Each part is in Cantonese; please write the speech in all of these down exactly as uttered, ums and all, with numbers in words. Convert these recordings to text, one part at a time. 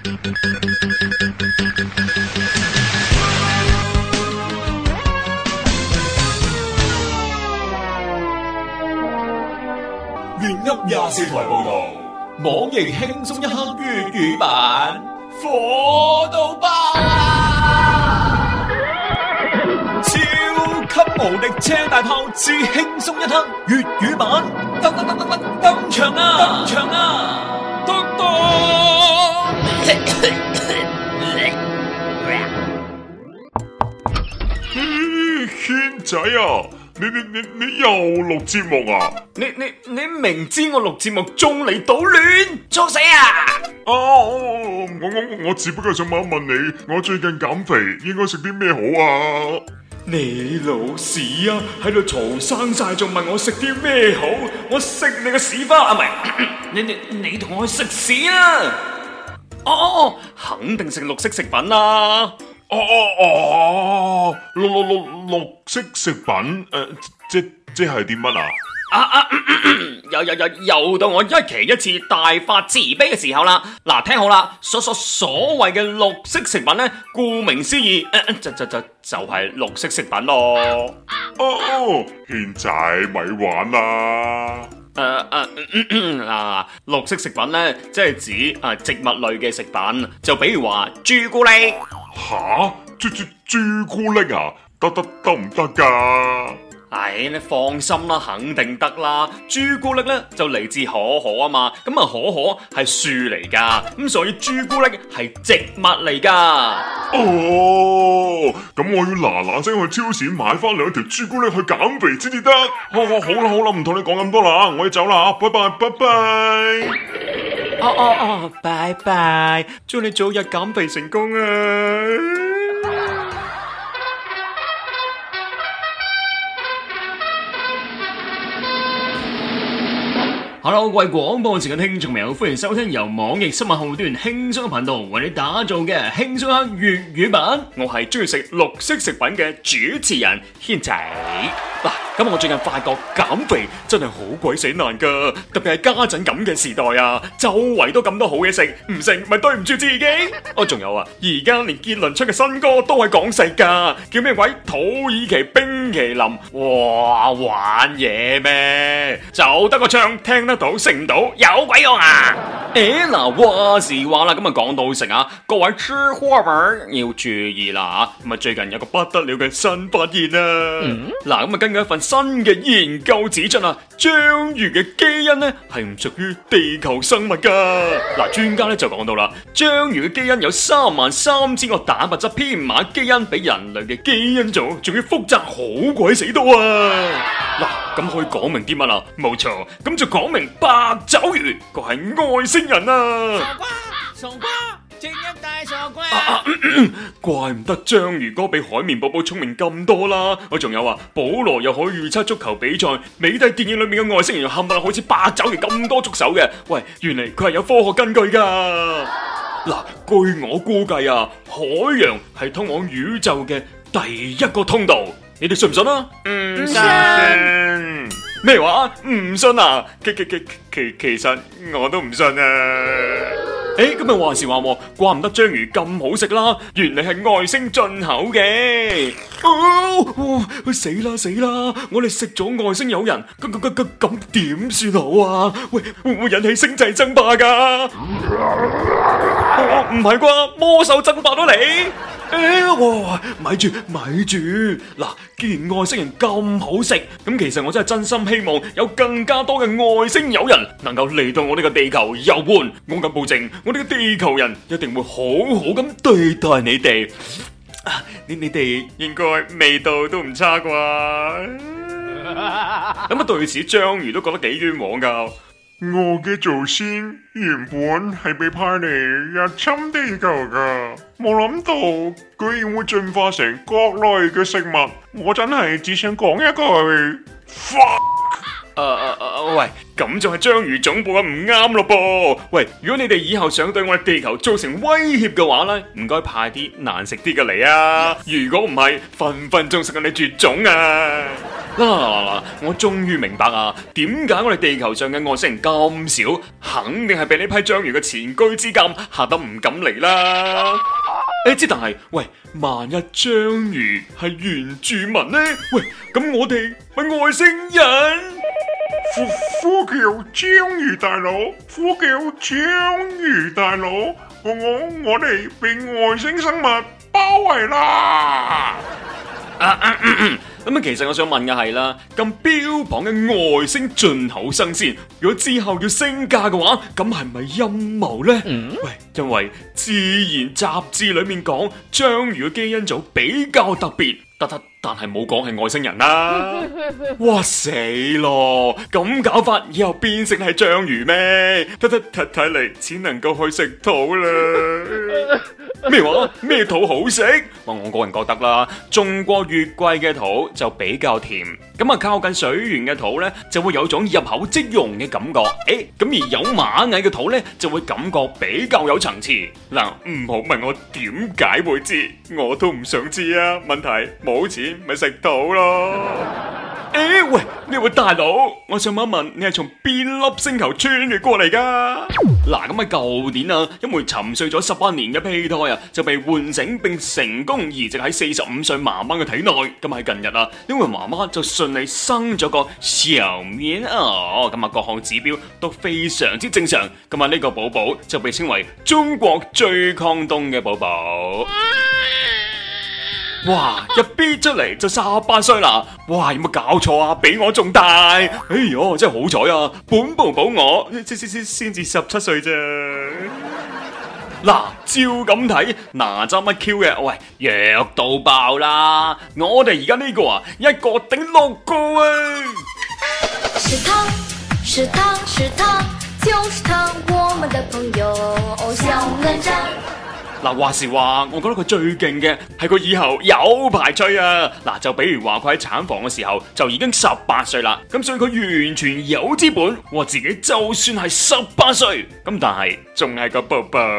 粵噏廿四台報道，網易輕鬆一刻粵語版，火到爆啊！超級無敵車大炮之輕鬆一刻粵語版，登登登登登登場啊！登場啊！登登！ 軒仔啊！你你你你又錄節目啊？ 你你你明知我錄節目中嚟搗亂，作死啊！ 哦，我我我只不過想問一問你，我最近減肥應該食啲咩好啊？ 你老屎啊！喺度嘈生晒，仲問我食啲咩好？我食你個屎花啊！唔係，你你你同我去食屎啊！哦哦哦，肯定食綠色食品啦！ 哦哦哦，綠綠綠綠色食品，誒、呃，即即係啲乜啊？ 啊啊，又又又又到我一期一次大發慈悲嘅時候啦！嗱，聽好啦，所所所謂嘅綠色食品咧，顧名思義，呃、就就就就係綠色食品咯。 哦，軒仔咪玩啦！ 誒誒嗱，綠色食品咧，即係指啊植物類嘅食品，就比如話朱古力。 吓，朱朱朱古力啊，得得得唔得噶？ 唉，你放心啦，肯定得啦。朱古力咧就嚟自可可啊嘛，咁啊可可係樹嚟噶，咁所以朱古力係植物嚟噶。 哦，咁我要嗱嗱聲去超市買翻兩條朱古力去減肥先至得。好，好，好啦好啦，唔同你講咁多啦，我要走啦，拜拜拜拜。 哦哦哦，拜拜，祝你早日減肥成功啊！Hello， 各位廣播前嘅聽眾朋友，歡迎收聽由網易新聞號端輕鬆嘅頻道為你打造嘅輕鬆一刻粵語版。我係中意食綠色食品嘅主持人軒仔。嗱，咁我最近發覺減肥真係好鬼死難噶，特別係家陣咁嘅時代啊，周圍都咁多好嘢食，唔食咪對唔住自己。哦，仲有啊，而家連傑倫出嘅新歌都係講食噶，叫咩鬼？土耳其冰淇淋，哇，玩嘢咩？就得個唱，聽得到，食唔到，有鬼用啊！誒，嗱，話時話啦，咁啊講到食啊，各位吃貨們要注意啦吓，咁啊最近有個不得了嘅新發現啊，嗱，咁啊根據一份新嘅研究指出啊，章魚嘅基因咧係唔屬於地球生物噶。嗱，專家咧就講到啦，章魚嘅基因有三萬三千個蛋白質編碼基因，比人類嘅基因組仲要複雜好鬼死多啊！嗱，咁可以講明啲乜啊？冇錯，咁就講明八爪魚佢係外星人啊！ 傻瓜，傻瓜，正一大傻瓜！ 啊啊嗯嗯、怪唔得章魚哥比海綿寶寶聰明咁多啦！我仲有啊，保羅又可以預測足球比賽，美帝電影裏面嘅外星人又冚唪唥好似八爪魚咁多觸手嘅。喂，原嚟佢係有科學根據噶。嗱，據我估計啊，海洋係通往宇宙嘅第一個通道。你哋信唔信啊？ 唔信。 咩話？唔信啊？其其其其其實我都唔信啊！誒，咁啊話時話，怪唔得章魚咁好食啦，原來係外星進口嘅。哦，哦，死啦死啦！我哋食咗外星友人，咁咁咁咁點算好啊？喂，會唔會引起星際爭霸噶？唔係啩？魔獸爭霸都嚟？誒，哇！咪住咪住，嗱，既然外星人咁好食，咁其實我真係真心希望有更加多嘅外星友人能夠嚟到我呢個地球遊玩。我敢保證，我呢個地球人一定會好好咁對待你哋。啊，你你哋應該味道都唔差啩？咁啊，對此章魚都覺得幾冤枉噶。 我嘅祖先原本係被派嚟入侵地球噶，冇諗到居然會進化成各類嘅食物，我真係只想講一句 fuck。 誒誒誒，喂，咁就係章魚總部啊，唔啱咯噃。喂，如果你哋以後想對我哋地球造成威脅嘅話咧，唔該派啲難食啲嘅嚟啊！如果唔係，分分鐘食到你絕種啊！ 嗱嗱嗱嗱，我終於明白啊，點解我哋地球上嘅外星人咁少，肯定係被呢批章魚嘅前居之鑑嚇得唔敢嚟啦。誒，之但係，喂，萬一章魚係原住民呢？喂，咁我哋咪外星人？ 呼呼叫章魚大佬，呼叫章魚大佬，我我我哋被外星生物包圍啦！ 啊啊嗯嗯咁啊，其實我想問嘅係啦，咁標榜嘅外星進口生鮮，如果之後要升價嘅話，咁係咪陰謀呢？嗯、喂，因為自然雜誌裏面講章魚嘅基因組比較特別，得得，但係冇講係外星人啦。哇死咯！咁搞法以後變成係章魚咩？得得，睇睇嚟只能夠去食土啦。咩話？咩土好食？我我個人覺得啦，種過月季嘅土就比較甜，咁啊靠近水源嘅土呢，就會有種入口即溶嘅感覺。誒，咁而有螞蟻嘅土呢，就會感覺比較有層次。嗱，唔好問我點解會知，我都唔想知啊。問題冇錢咪食土咯。誒，喂，呢位大佬，我想問一問，你係從邊粒星球穿越過嚟噶？嗱，咁喺舊年啊，一枚沉睡咗十八年嘅胚胎啊，就被喚醒並成功移植喺四十五歲媽媽嘅體內。咁喺近日啊，呢位媽媽就順利生咗個小棉襖，咁啊各項指標都非常之正常。咁啊呢個寶寶就被稱為中國最抗凍嘅寶寶。哇！一 B 出嚟就十八歲啦！哇，有冇搞錯啊？比我仲大！哎喲，真係好彩啊！本寶寶我先先先先至十七歲啫。嗱，照咁睇，哪吒乜 Q 嘅？喂，弱到爆啦！我哋而家呢個啊，一個頂六個啊！ 是他，是他，是他，就是他，我們的朋友小哪吒。 嗱，話時話，我覺得佢最勁嘅係佢以後有排吹啊！嗱，就比如話佢喺產房嘅時候就已經十八歲啦，咁所以佢完全有資本話自己就算係十八歲，咁但係仲係個寶寶。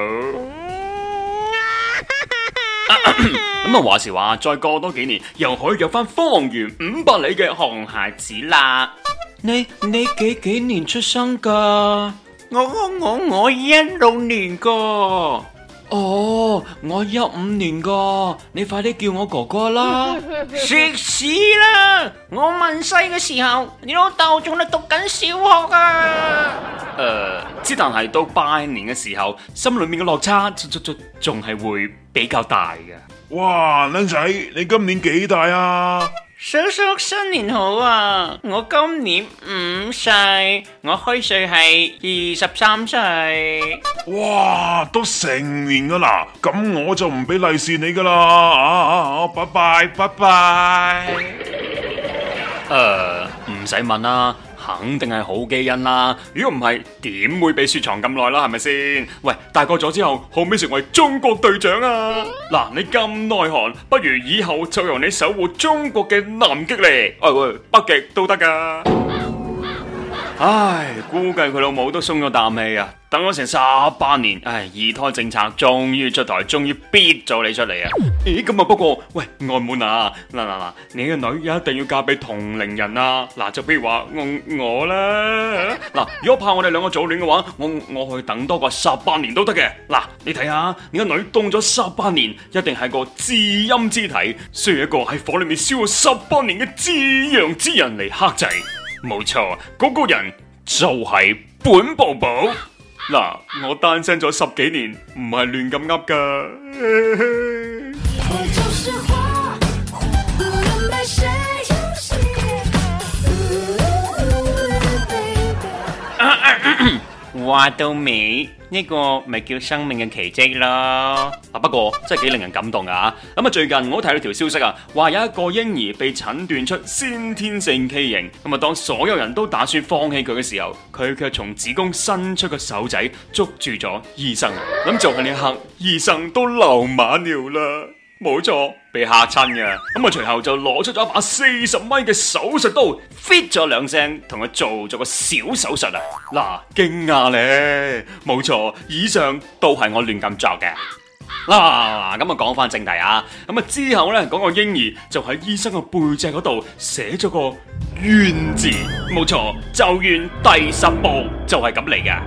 咁啊，話時話，再過多幾年又可以約翻方圓五百里嘅熊孩子啦。 你你幾幾年出生噶？我我我我一六年噶。 哦，我一五年噶，你快啲叫我哥哥啦！ 食屎啦！我問世嘅時候，你老豆仲喺讀緊小學啊！ 誒、呃，之但係到拜年嘅時候，心裏面嘅落差仲仲仲係會比較大嘅。 哇，僆仔，你今年幾大啊？ 叔叔新年好啊！我今年五歲，我虛歲係二十三歲。 哇，都成年噶啦，咁我就唔俾利是你噶啦，啊啊啊！拜拜拜拜。 誒，唔使問啦。肯定係好基因啦，如果唔係，點會被雪藏咁耐啦？係咪先？喂，大個咗之後，可唔可以成為中國隊長啊？嗱，你咁耐寒，不如以後就由你守護中國嘅南極嚟，哎喂，北極都得噶。唉，估計佢老母都鬆咗啖氣啊！等咗成十八年，唉，二胎政策終於出台，終於逼咗你出嚟啊！咦，咁啊，不過喂，外母啊，嗱嗱嗱，你嘅女一定要嫁俾同齡人啊！嗱，就比如話我我啦，嗱，如果怕我哋兩個早戀嘅話，我我去等多個十八年都得嘅。嗱，你睇下，你個女凍咗十八年，一定係個至陰之體，需要一個喺火裏面燒咗十八年嘅至陽之人嚟克制。冇錯，嗰、那個人就係本寶寶。嗱，我單身咗十幾年，唔係亂咁噏噶。 話到尾呢個咪叫生命嘅奇蹟咯。 啊，不過真係幾令人感動啊！咁啊，最近我睇到條消息啊，話有一個嬰兒被診斷出先天性畸形。咁啊，當所有人都打算放棄佢嘅時候，佢卻從子宮伸出個手仔捉住咗醫生。咁就喺呢一刻，醫生都流馬尿啦。冇錯，被嚇親嘅。咁啊，隨後就攞出咗一把四十米嘅手術刀 ，fit 咗兩聲，同佢做咗個小手術啊！嗱，驚訝咧，冇錯，以上都係我亂咁作嘅。 嗱，咁啊講翻正題啊，咁啊之後咧講個嬰兒就喺醫生嘅背脊嗰度寫咗個願字，冇錯，咒怨第十部就係咁嚟嘅。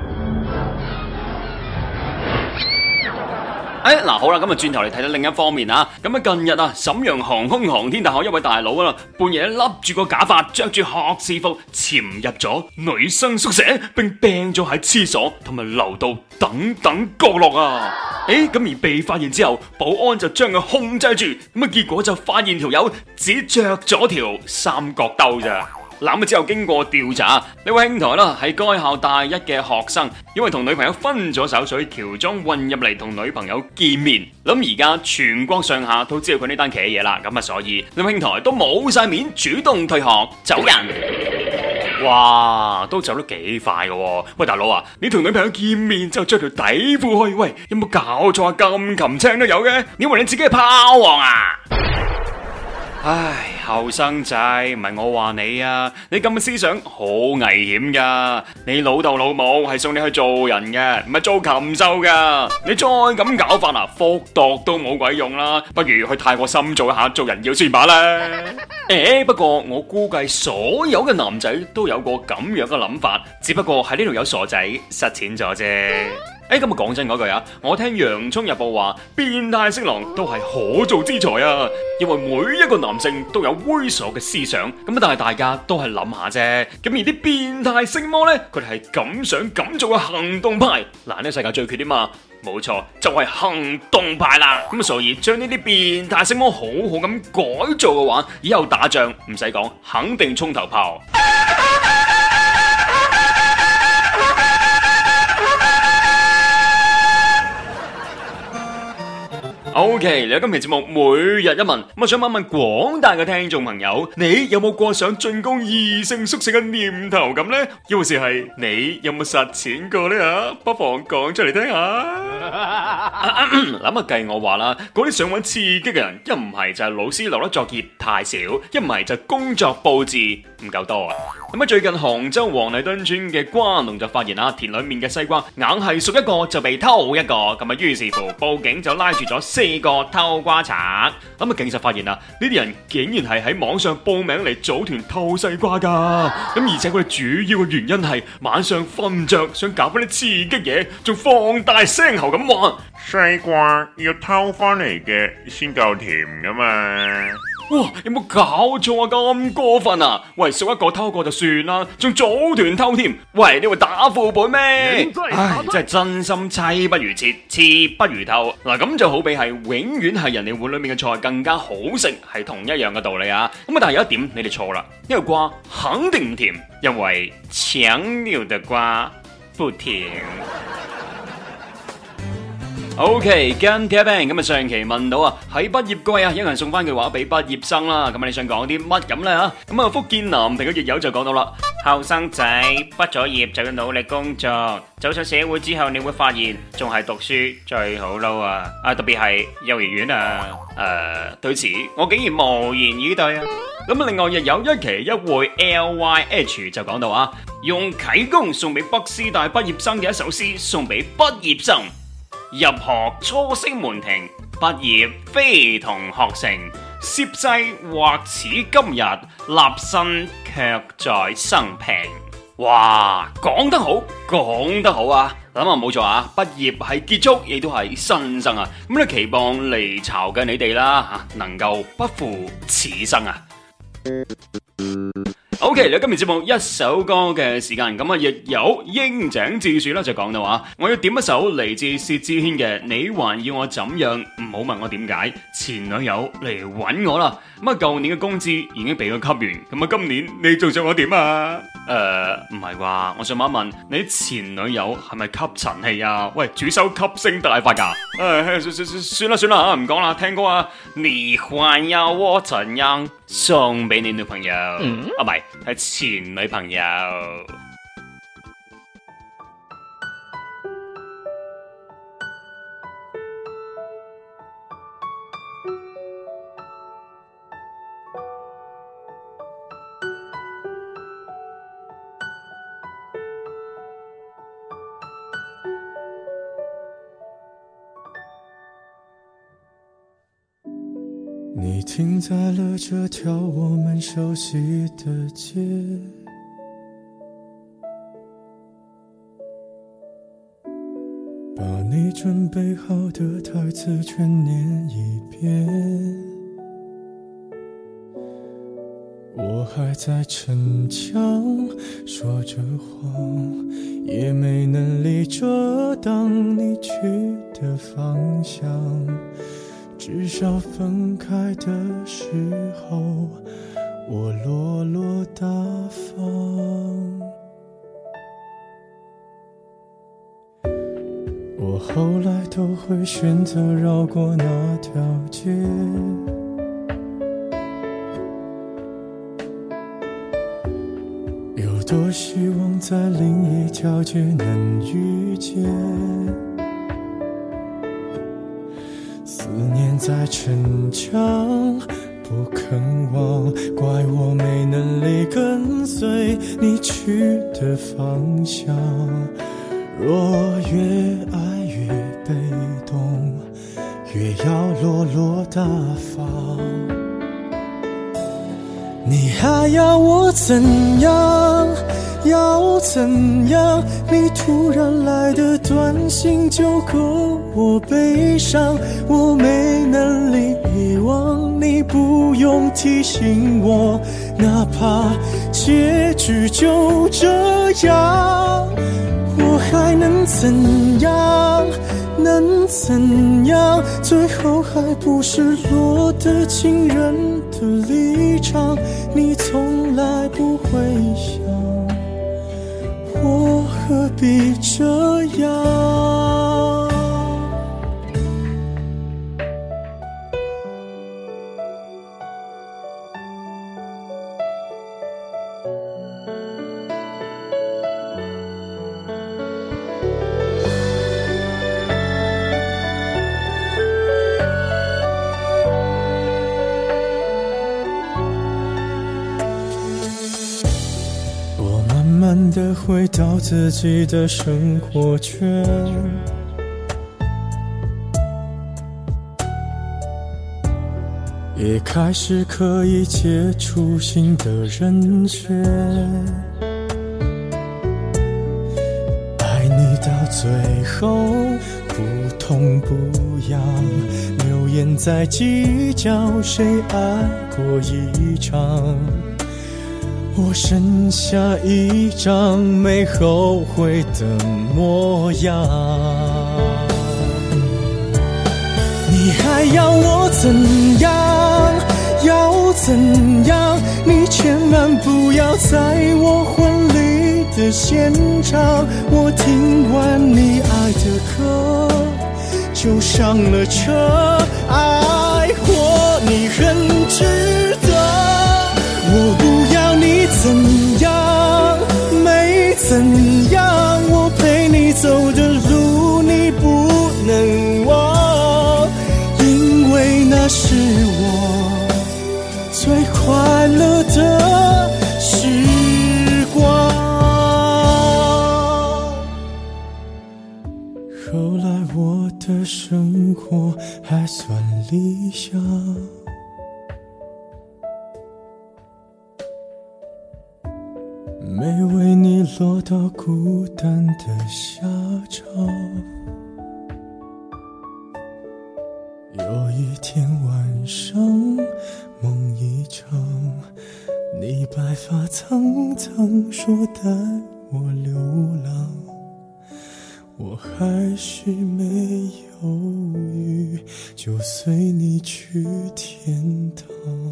誒，嗱好啦，咁啊轉頭嚟睇到另一方面啊，咁啊近日啊，瀋陽航空航天大學一位大佬啊，半夜笠住個假髮，着住學士服，潛入咗女生宿舍，並病咗喺廁所同埋樓道等等角落啊！誒，咁而被發現之後，保安就將佢控制住，咁啊結果就發現條友只着咗條三角兜咋。咁之後經過調查，呢位兄台啦係該校大一嘅學生，因為同女朋友分咗手，所以喬裝混入嚟同女朋友見面。咁而家全國上下都知道佢呢單奇嘢啦，咁啊所以呢位兄台都冇晒面，主動退學走人。哇，都走得幾快噶喎！喂，大佬啊，你同女朋友見面就着條底褲去，喂，有冇搞錯啊？咁擒青都有嘅，你以為你自己係炮王啊？唉，後生仔，唔係我話你啊，你咁嘅思想好危險噶。你老豆老母係送你去做人嘅，唔係做禽獸噶。你再咁搞法啊，復讀都冇鬼用啦，不如去泰國深造一下做人妖算罷啦。誒，不過我估計所有嘅男仔都有個咁樣嘅諗法，只不過喺呢度有傻仔實踐咗啫。誒，咁啊講真嗰句啊，我聽洋蔥日報話，變態色狼都係可造之材啊，因為每一個男性都有猥瑣嘅思想，咁但係大家都係諗下啫。咁而啲變態色魔呢，佢哋係敢想敢做嘅行動派。嗱，呢個世界最缺啲嘛，冇錯，就係行動派啦。咁所以將呢啲變態色魔好好咁改造嘅話，以後打仗唔使講，肯定衝頭炮。OK，嚟到今期節目每日一問，咁啊想問一問廣大嘅聽眾朋友，你有冇過想進攻異性宿舍嘅念頭咁呢？又或是係你有冇實踐過呢？吓，不妨講出嚟聽下。諗啊計我話啦，嗰啲想揾刺激嘅人，一唔係就係老師留得作業太少，一唔係就工作佈置唔夠多啊。咁啊最近杭州黃泥墩村嘅瓜農就發現啊，田裏面嘅西瓜硬係熟一個就被偷一個，咁啊於是乎報警就拉住咗四個偷瓜賊。咁啊警察發現啊，呢啲人竟然係喺網上報名嚟組團偷西瓜噶，咁而且佢哋主要嘅原因係晚上瞓唔着，想搞翻啲刺激嘢，仲放大聲喉咁話： 西瓜要偷翻嚟嘅先夠甜噶嘛。 哇！有冇搞錯啊？咁過分啊！喂，熟一個偷過就算啦，仲組團偷添。喂，你會打副本咩？唉，真係真心妻不如妾，妾不如偷。嗱，咁就好比係永遠係人哋碗裏面嘅菜更加好食，係同一樣嘅道理啊。咁啊，但係有一點你哋錯啦，因為瓜肯定唔甜，因為強扭的瓜不甜。OK， 跟 T Bang 咁啊，上期問到啊，喺畢業季啊，有人送翻句話俾畢業生啦。咁啊，你想講啲乜咁咧吓？咁啊，福建南平嘅亦友就講到啦，後生仔畢咗業就要努力工作，走上社會之後，你會發現仲係讀書最好撈啊！啊，特別係幼兒園啊。誒、呃，對此我竟然無言以對啊！咁啊，另外亦有一期一會 L Y H 就講到啊，用啟功送俾北師大畢業生嘅一首詩，送俾畢業生。入學初升門庭，畢業非同學成。涉世或似今日，立身卻在生平。哇，講得好，講得好啊！諗下冇錯啊，畢業係結束，亦都係新生啊！咁咧期望離巢嘅你哋啦吓，能夠不負此生啊！OK，嚟今日節目一首歌嘅時間，咁啊亦有鷹井智樹啦，就講到話，我要點一首嚟自薛之謙嘅《你還要我怎樣》，唔好問我點解，前女友嚟搵我啦，咁啊舊年嘅工資已經俾佢吸完，咁啊今年你仲想我點啊？誒、呃，唔係啩？我想問一問，你前女友係咪吸塵器啊？喂，主修吸星大法噶？誒、呃，算算算啦算啦吓，唔講啦，聽歌啊，你還要我怎樣？送俾你女朋友，嗯、啊唔係，係前女朋友。 你停在了这条我们熟悉的街，把你准备好的台词全念一遍。我还在逞强说着谎，也没能力遮挡你去的方向，至少分开的时候我落落大方。我后来都会选择绕过那条街，有多希望在另一条街能遇见，思念在逞强不肯忘，怪我没能力跟随你去的方向。若越爱越被动，越要落落大方。你还要我怎样？要怎样？你突然来的短信就够我悲伤，我没能力遗忘，你不用提醒我，哪怕结局就这样。我还能怎样？能怎样？最后还不是落得情人的立场，你从来不会想，我何必这样？慢慢地回到自己的生活圈，也开始可以接触新的人选。爱你到最后不痛不痒，流言在计较谁爱过一场，我剩下一张没后悔的模样。你还要我怎样？要怎样？你千万不要在我婚礼的现场，我听完你爱的歌就上了车，爱过你很值得，我不要你怎样，没怎样，我陪你走的路你不能忘，因为那是我最快乐的时光。后来我的生活还算理想，没为你落到孤单的下场。有一天晚上梦一场，你白发苍苍说带我流浪，我还是没犹豫就随你去天堂。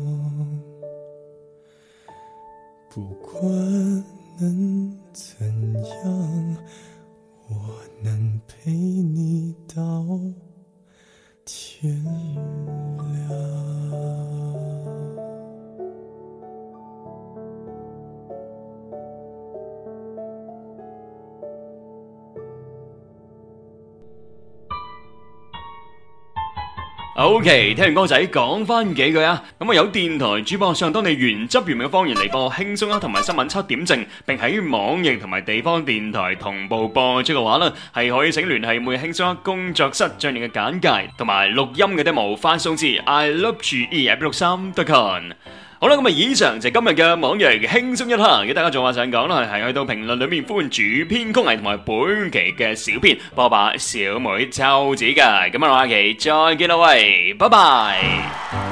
不管能怎样，我能陪你到天亮。 OK， 聽完歌仔講翻幾句啊，咁啊有電台主播上當地原汁原味嘅方言嚟播輕鬆一刻同埋新聞七點正，並喺網易同埋地方電台同步播出嘅話呢，係可以請聯繫每輕鬆一刻工作室，將你嘅簡介同埋錄音嘅 demo 發送至 i love g e 一六三 dot com。好啦，咁啊，以上就係今日嘅網易輕鬆一刻，嘅大家仲話想講啦，係去到評論裏面歡迎主編曲藝同埋本期嘅小編波霸小妹秋子㗎，咁啊，下期再見啦，喂，拜拜。